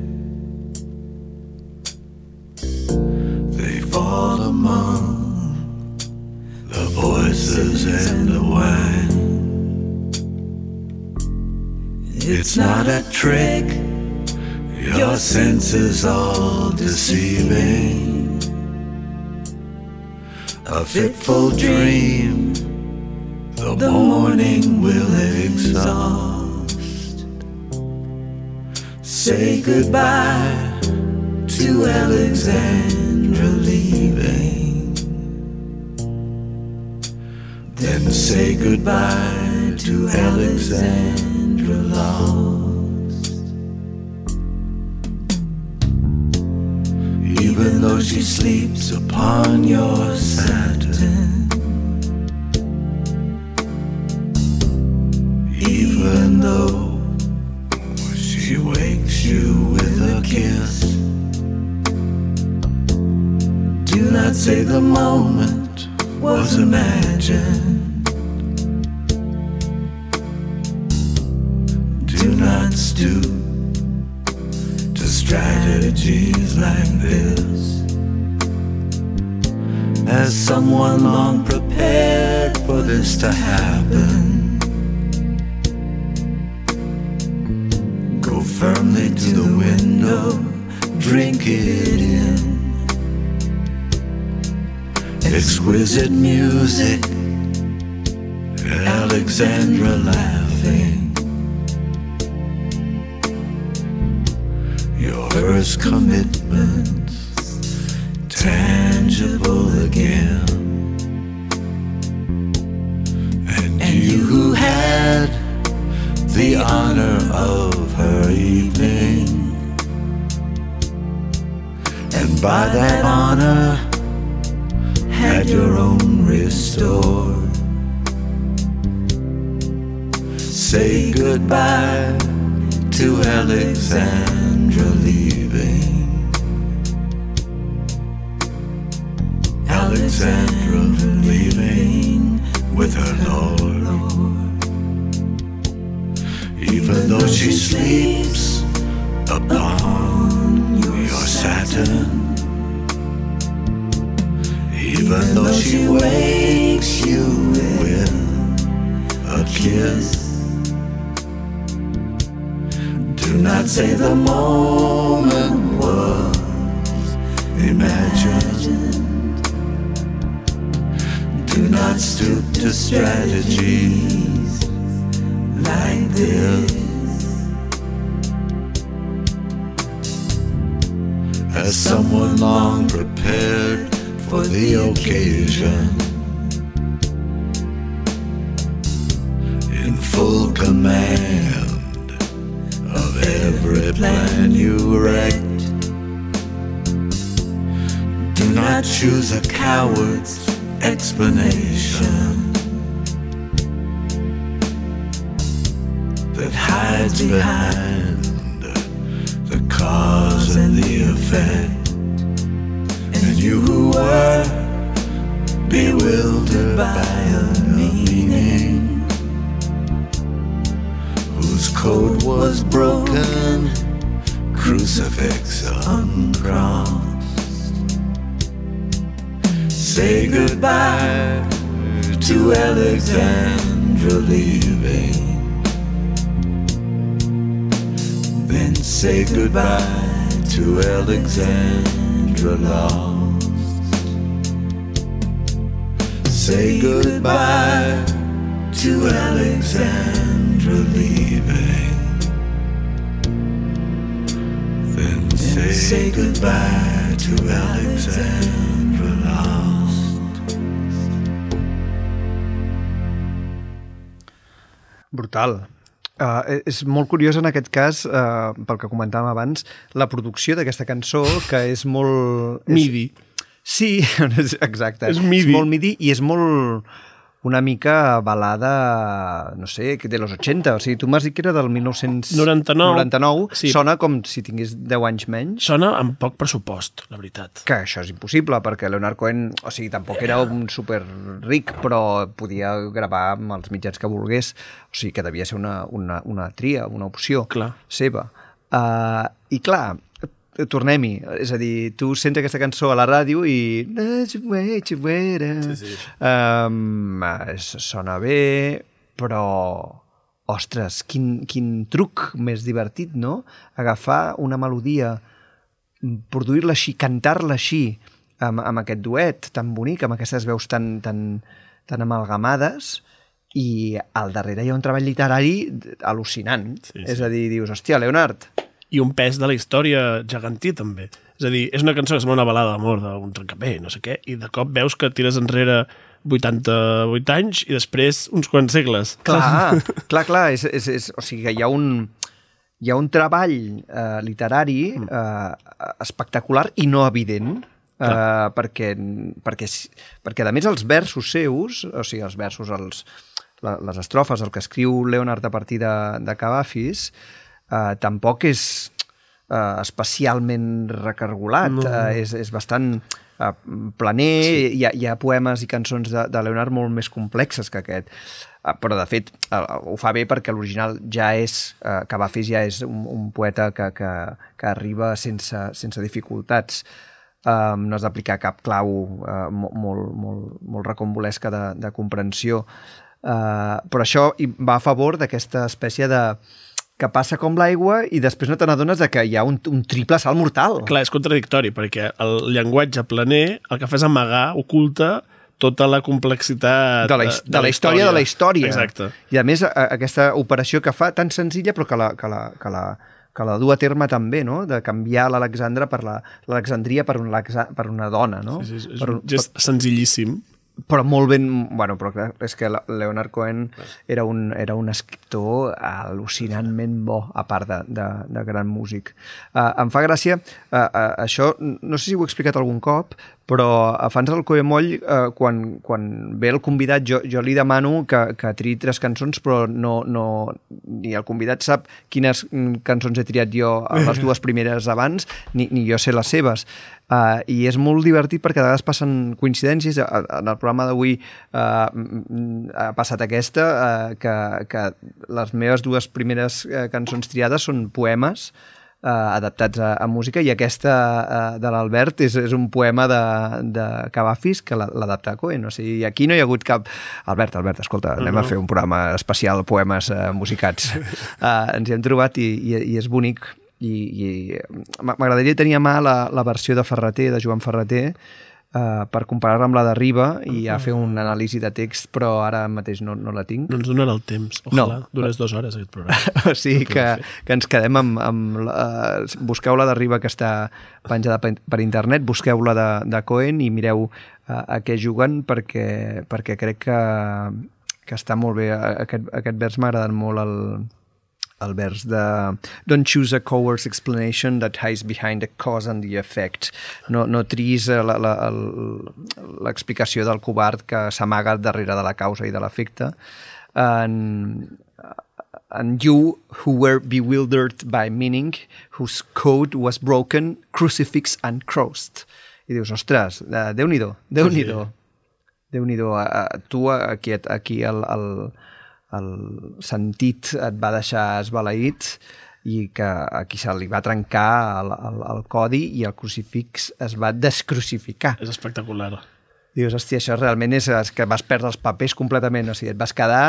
They fall among the voices and the wine. It's not a trick, your senses all deceiving, a fitful dream the morning will exhaust. Say goodbye to Alexandra leaving, then say goodbye to Alexandra lost. Even though she sleeps upon your satin, even though she wakes you with a kiss, do not say the moment was imagined. Do not stoop to strategies like this, as someone long prepared for this to happen. Go firmly to the window, drink it in. Exquisite music, Alexandra laughing. Your first commitments tangible again. And you who had the honor of her evening, and by that honor had your own restored. Say goodbye to Alexandra leaving, Alexandra leaving with her Lord. Even though she sleeps upon your satin, even though she wakes you with a kiss, do not say the moment was imagined. Do not stoop to strategies like this. As someone long prepared for the occasion, in full command of every plan you wrecked. Do not choose a coward's explanation that hides behind the cause and the effect. And you who were bewildered by a meaning whose code was broken, crucifix uncrossed. Say goodbye to Alexandra leaving, then say goodbye to Alexandra lost. Say goodbye to Alexandra leaving, then say, say goodbye to Alexandra lost. Brutal. Uh, és molt curiós en aquest cas, uh, pel que comentàvem abans, la producció d'aquesta cançó, que és molt... És... Midi. Sí, exacte. És midi. És molt midi i és molt... una mica balada, no sé, de los ochenta. O sigui, tu m'has dit que era del dinou noranta-nou. noranta-nou. Sí. Sona com si tingués deu anys menys. Sona amb poc pressupost, la veritat. Que això és impossible, perquè Leonard Cohen, o sigui, tampoc era un super ric, però podia gravar amb els mitjans que volgués. O sigui, que devia ser una, una, una tria, una opció clar. seva. Uh, I clar, tornem-hi. És a dir, tu sents aquesta cançó a la ràdio i... Sí, sí. Um, sona bé, però... Ostres, quin, quin truc més divertit, no? Agafar una melodia, produir-la així, cantar-la així, amb, amb aquest duet tan bonic, amb aquestes veus tan, tan, tan amalgamades, i al darrere hi ha un treball literari al·lucinant. Sí, sí. És a dir, dius, hòstia, Leonard... I un pes de la història gegantí, també. És a dir, és una cançó que sembla una balada d'amor d'un trencapé, no sé què, i de cop veus que tires enrere vuitanta-vuit anys i després uns quants segles. Clar, clar, clar. És, és, és, o sigui que hi ha un, hi ha un treball eh, literari eh, espectacular i no evident, eh, perquè, perquè, perquè, a més, els versos seus, o sigui, els versos, els, les estrofes, el que escriu Leonard a partir de, de Cavafis, Uh, tampoc és uh, especialment recargolat, no. uh, és, és bastant uh, planer, sí. hi, ha, hi ha poemes i cançons de, de Leonard molt més complexes que aquest, uh, però de fet uh, ho fa bé perquè l'original ja és, uh, Cavafis ja és un, un poeta que, que, que arriba sense, sense dificultats. Um, no has d'aplicar cap clau uh, molt, molt, molt recombolesca de, de comprensió, uh, però això va a favor d'aquesta espècie de que passa com l'aigua i després no te n'adones que hi ha un, un triple salt mortal. Clar, és contradictori, perquè el llenguatge planer el que fa és amagar, oculta tota la complexitat de la, de, de la història de la història. Exacte. I a més, a, aquesta operació que fa tan senzilla però que la, que la, que la, que la du a terme també, no? De canviar l'Alexandra per l'Alexandria per, un, per una dona, no? Sí, sí, és per, un gest per... senzillíssim. Però molt ben... Bueno, però clar, és que Leonard Cohen era un, era un escriptor al·lucinantment bo, a part de, de, de gran músic. Uh, em fa gràcia, uh, uh, això, no sé si ho he explicat algun cop, però a fans del Coemoll, uh, quan, quan ve el convidat, jo, jo li demano que, que triï tres cançons, però no, no, ni el convidat sap quines cançons he triat jo a les dues primeres abans, ni, ni jo sé les seves. Uh, I és molt divertit perquè a vegades passen coincidències. En el programa d'avui uh, ha passat aquesta, uh, que, que les meves dues primeres uh, cançons triades són poemes uh, adaptats a, a música, i aquesta uh, de l'Albert és, és un poema de, de Cavafis que l'adapta a Cohen. O sigui, aquí no hi ha hagut cap... Albert, Albert, escolta, anem uh-huh. a fer un programa especial poemes uh, musicats. Uh, ens hi hem trobat i, i, i és bonic. I, i m'agradaria tenir a mà la, la versió de Ferreter, de Joan Ferreter, uh, per comparar-la amb la de Riba i a fer un anàlisi de text, però ara mateix no, no la tinc. No ens donarà el temps. Ojalà, No. durés dues hores aquest programa. O sigui que, que ens quedem amb... amb uh, busqueu la de Riba que està penjada per, per internet, busqueu la de, de Cohen i mireu uh, a què juguen perquè, perquè crec que, que està molt bé. Aquest, aquest vers m'ha agradat molt el... el vers de Don't choose a coward's explanation that hides behind the cause and the effect. No, no triïs la, la, l'explicació del covard que s'amaga darrere de la causa i de l'efecte. And, and you who were bewildered by meaning, whose code was broken, crucifix and crossed. I dius, ostres, Déu-n'hi-do, Déu-n'hi-do. Déu-n'hi-do. Tu aquí, aquí el... el el sentit et va deixar esbalaït i que aquí se li va trencar el, el, el codi i el crucifix es va descrucificar. És espectacular. Dius, hòstia, això realment és, és que vas perdre els papers completament, o sigui, et vas quedar...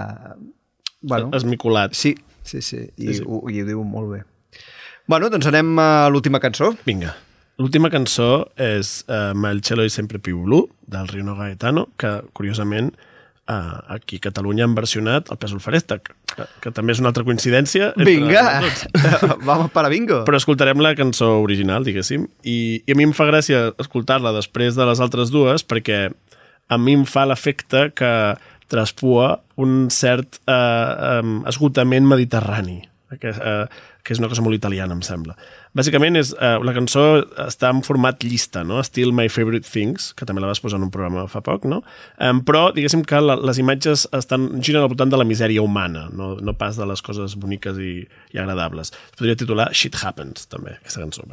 Eh, bueno, esmicolat. Sí, sí, sí, i, sí, sí. Ho, i ho diu molt bé. Bueno, doncs anem a l'última cançó. Vinga. L'última cançó és uh, Ma el cielo è sempre più blu, del Rino Gaetano, que, curiosament, Uh, aquí a Catalunya han versionat el Pèsol Feréstec, que, que també és una altra coincidència. Vinga! Vamos para bingo! Però escoltarem la cançó original, diguéssim, i, i a mi em fa gràcia escoltar-la després de les altres dues perquè a mi em fa l'efecte que traspua un cert uh, um, esgotament mediterrani, que, uh, que és una cosa molt italiana, em sembla. Bàsicament, és, uh, la cançó està en format llista, no? Still My Favorite Things, que també la vas posar en un programa fa poc, no? Um, però, diguéssim que la, les imatges estan giren al voltant de la misèria humana, no, no pas de les coses boniques i, i agradables. Es podria titular Shit Happens, també, aquesta cançó.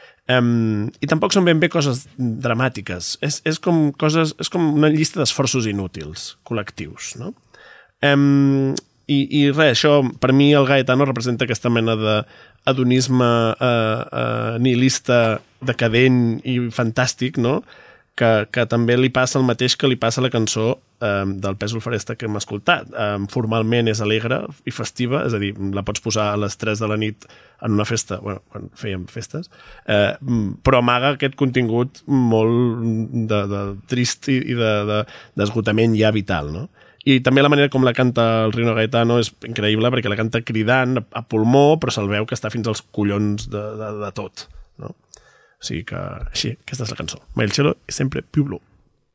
Um, I tampoc són ben bé coses dramàtiques. És, és, com, coses, és com una llista d'esforços inútils, col·lectius, no? Um, i, I res, això, per mi, el Gaetano representa aquesta mena de adonisme eh, eh, nihilista, decadent i fantàstic, no? Que, que també li passa el mateix que li passa a la cançó eh, del Pèsol Feréstec que hem escoltat. Eh, formalment és alegre i festiva, és a dir, la pots posar a les tres de la nit en una festa, bueno, quan fèiem festes, eh, però amaga aquest contingut molt de, de trist i de, de, d'esgotament ja vital, no? I també la manera com la canta el Rino Gaetano és increïble perquè la canta cridant a pulmó, però se'l veu que està fins als collons de, de, de tot, no? O sigui que, així, aquesta és la cançó. Ma el cielo è sempre più blu.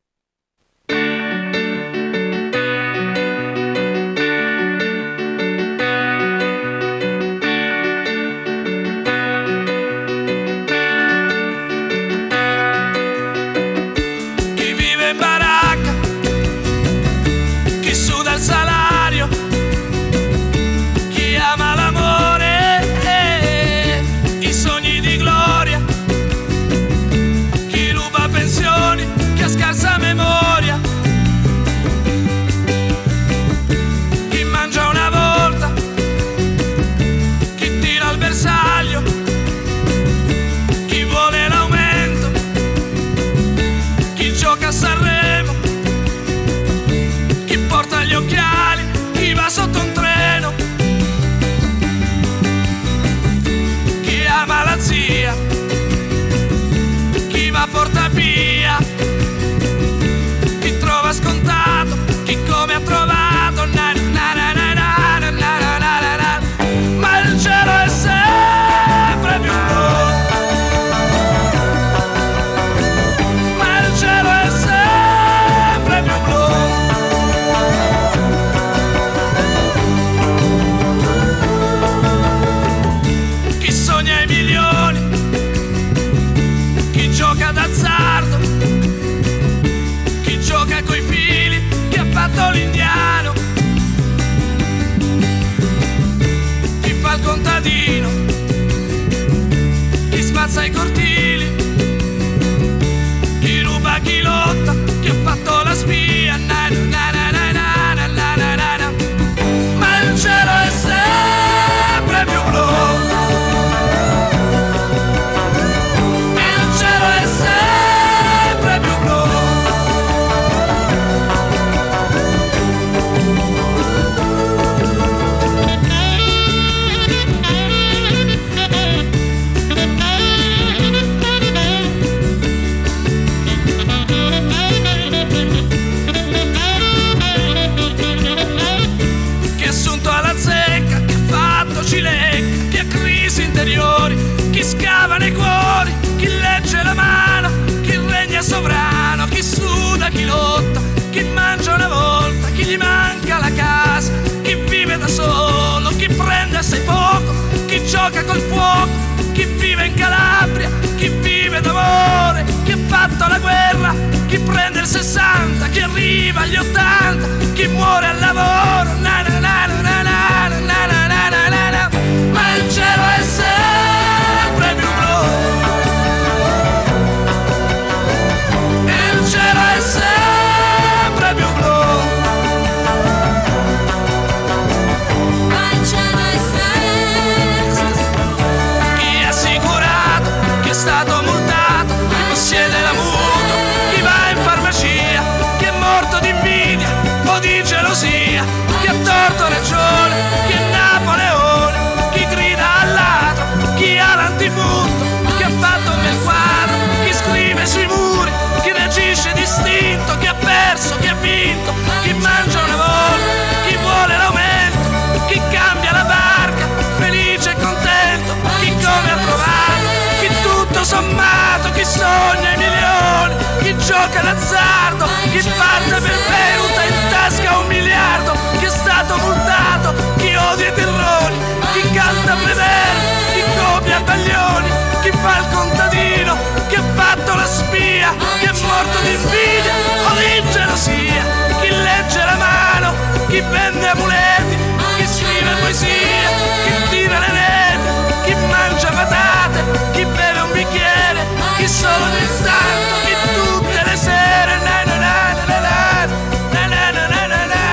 Sotto un treno, chi ama la zia, chi va porta via, chi trova scontato, chi come ha trovato, na, na, na, na, na, na, na, na, na. Ma il cielo è sempre più blu, ma il cielo è sempre più blu. Sogna i milioni, chi gioca d'azzardo, chi gioca coi fili, chi ha fatto l'indiano, chi fa il contadino, chi spazza i cortili, chi ruba, chi lotta, chi ha fatto la spia, na, na, na, na, na, na, na, na, na, na. Ma il cielo è sempre più blu. scava nei cuori, chi legge la mano, chi regna sovrano, chi suda, chi lotta, chi mangia una volta, chi gli manca la casa, chi vive da solo, chi prende assai poco, chi gioca col fuoco, chi vive in Calabria, chi vive d'amore, chi ha fatto la guerra, chi prende il sessanta, chi arriva agli ottanta, chi muore al lavoro, na na na na na na na na na na na na. Ma il cielo è sempre più blu, il cielo è sempre più blu. Chi è stato multato, chi possiede la mutua, chi va in farmacia, chi è morto di invidia o di gelosia, chi ha torto ragione, chi è Napoleone, chi grida al ladro, chi ha l'antifurto, chi ha fatto quel quadro, chi scrive sui muri, chi reagisce distinto, chi ha perso, chi ha vinto, chi mangia una volta, chi vuole l'aumento, chi cambia la barca, felice e contento, chi come ha trovato, chi tutto sommato, chi sogna i milioni, chi gioca d'azzardo, chi parte per Beuta in tasca un miliardo, chi è stato multato, chi odia i terroni, chi canta Prever, chi copia Baglioni, chi fa il contadino, chi ha fatto la spia, chi è morto di invidia o di gelosia, chi legge la mano, chi vende amuleti, chi scrive poesia, chi tira le reti, chi mangia patate, chi beve un bicchiere, chi solo nel santo, chi tutte le sere, na na na na na na na na na na na.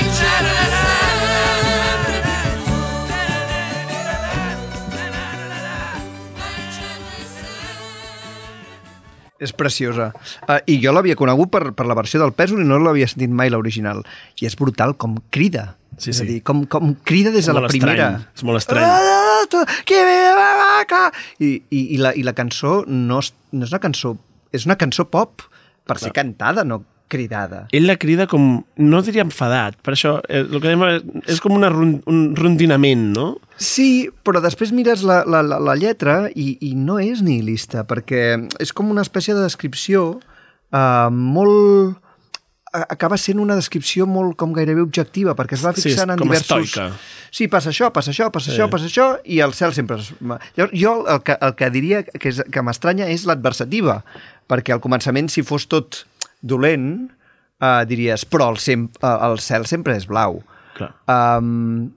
És preciosa. Uh, I jo l'havia conegut per, per la versió del Pèsol i no l'havia sentit mai l'original. I és brutal com crida. Sí, és sí. a dir, com, com crida des de la primera. És molt estrany. Qui vive la vaca? I, i, i, la, I la cançó no és, no és una cançó... És una cançó pop per ser cantada, no cridada. Ell la crida com... No diria enfadat, per això eh, el que dèiem és com una rond, un rondinament, no? Sí, però després mires la, la, la, la lletra i, i no és nihilista, perquè és com una espècie de descripció uh, molt... acaba sent una descripció molt com gairebé objectiva, perquè es va fixant sí, en com diversos... estoica. Sí, passa això, passa això, passa sí. això, passa això, i el cel sempre... Es... Llavors, jo el que, el que diria que, és, que m'estranya és l'adversativa, perquè al començament, si fos tot dolent, uh, diries, però el, sem uh, el cel sempre és blau. Clar. Um,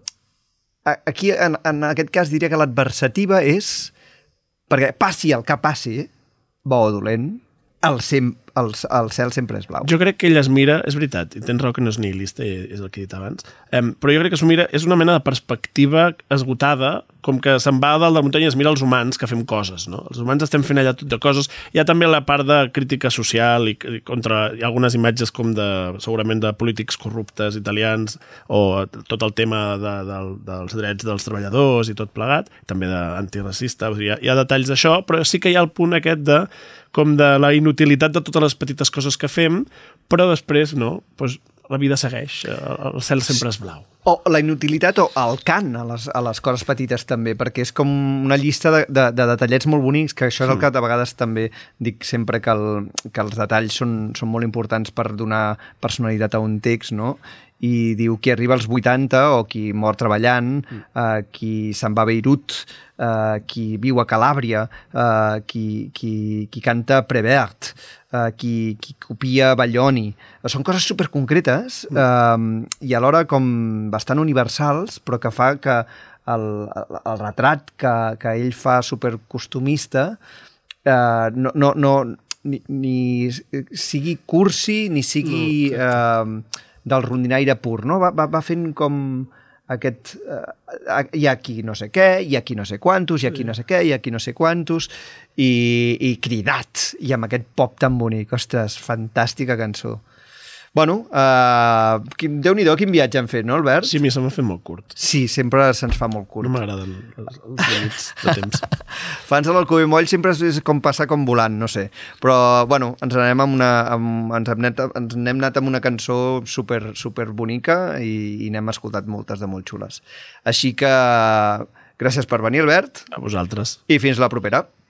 aquí, en, en aquest cas, diria que l'adversativa és, perquè passi el que passi, bo o dolent, el, sem el, el cel sempre és blau. Jo crec que ell es mira, és veritat, i tens raó que no és nihilista, és el que he dit abans, um, però jo crec que s'ho mira, és una mena de perspectiva esgotada, com que se'n va a dalt de la muntanya i es mira els humans que fem coses, no? Els humans estem fent allà tot de coses. Hi ha també la part de crítica social i, i contra hi ha algunes imatges com de, segurament, de polítics corruptes italians o tot el tema de, de, dels drets dels treballadors i tot plegat, també d'antiracista, hi ha, hi ha detalls d'això, però sí que hi ha el punt aquest de com de la inutilitat de totes les petites coses que fem, però després, no, doncs la vida segueix, el cel sempre és blau. O la inutilitat o el cant a les, a les coses petites també, perquè és com una llista de, de, de detallets molt bonics, que això és el que de vegades també dic sempre que, el, que els detalls són, són molt importants per donar personalitat a un text, no? I diu qui arriba als vuitanta o qui mor treballant, eh, qui se'n va a Beirut, eh, qui viu a Calàbria, eh, qui, qui, qui canta Prevert, eh, qui, qui copia Baglioni. Són coses superconcretes eh, i alhora com bastant universals, però que fa que el, el retrat que, que ell fa supercostumista eh, no, no, no, ni, ni sigui cursi ni sigui... Eh, del rondinaire pur, no? Va, va, va fent com aquest... Uh, hi ha aquí no sé què, hi ha aquí no sé quantos, hi ha aquí no sé què, hi ha aquí no sé quantos, i, i cridat, i amb aquest pop tan bonic. Ostres, fantàstica cançó. Bueno, uh, Déu-n'hi-do quin viatge hem fet, no, Albert? Sí, a mi se m'ha fet molt curt. Sí, sempre se'ns fa molt curt. No m'agraden els, els límits de temps. Fans de l'Alcover Moll sempre és com passar com volant, no sé. Però, bueno, ens anem amb una, amb, ens hem anat, ens n'hem anat amb una cançó super, super bonica i, i n'hem escoltat moltes de molt xules. Així que Gràcies per venir, Albert. A vosaltres. I fins la propera.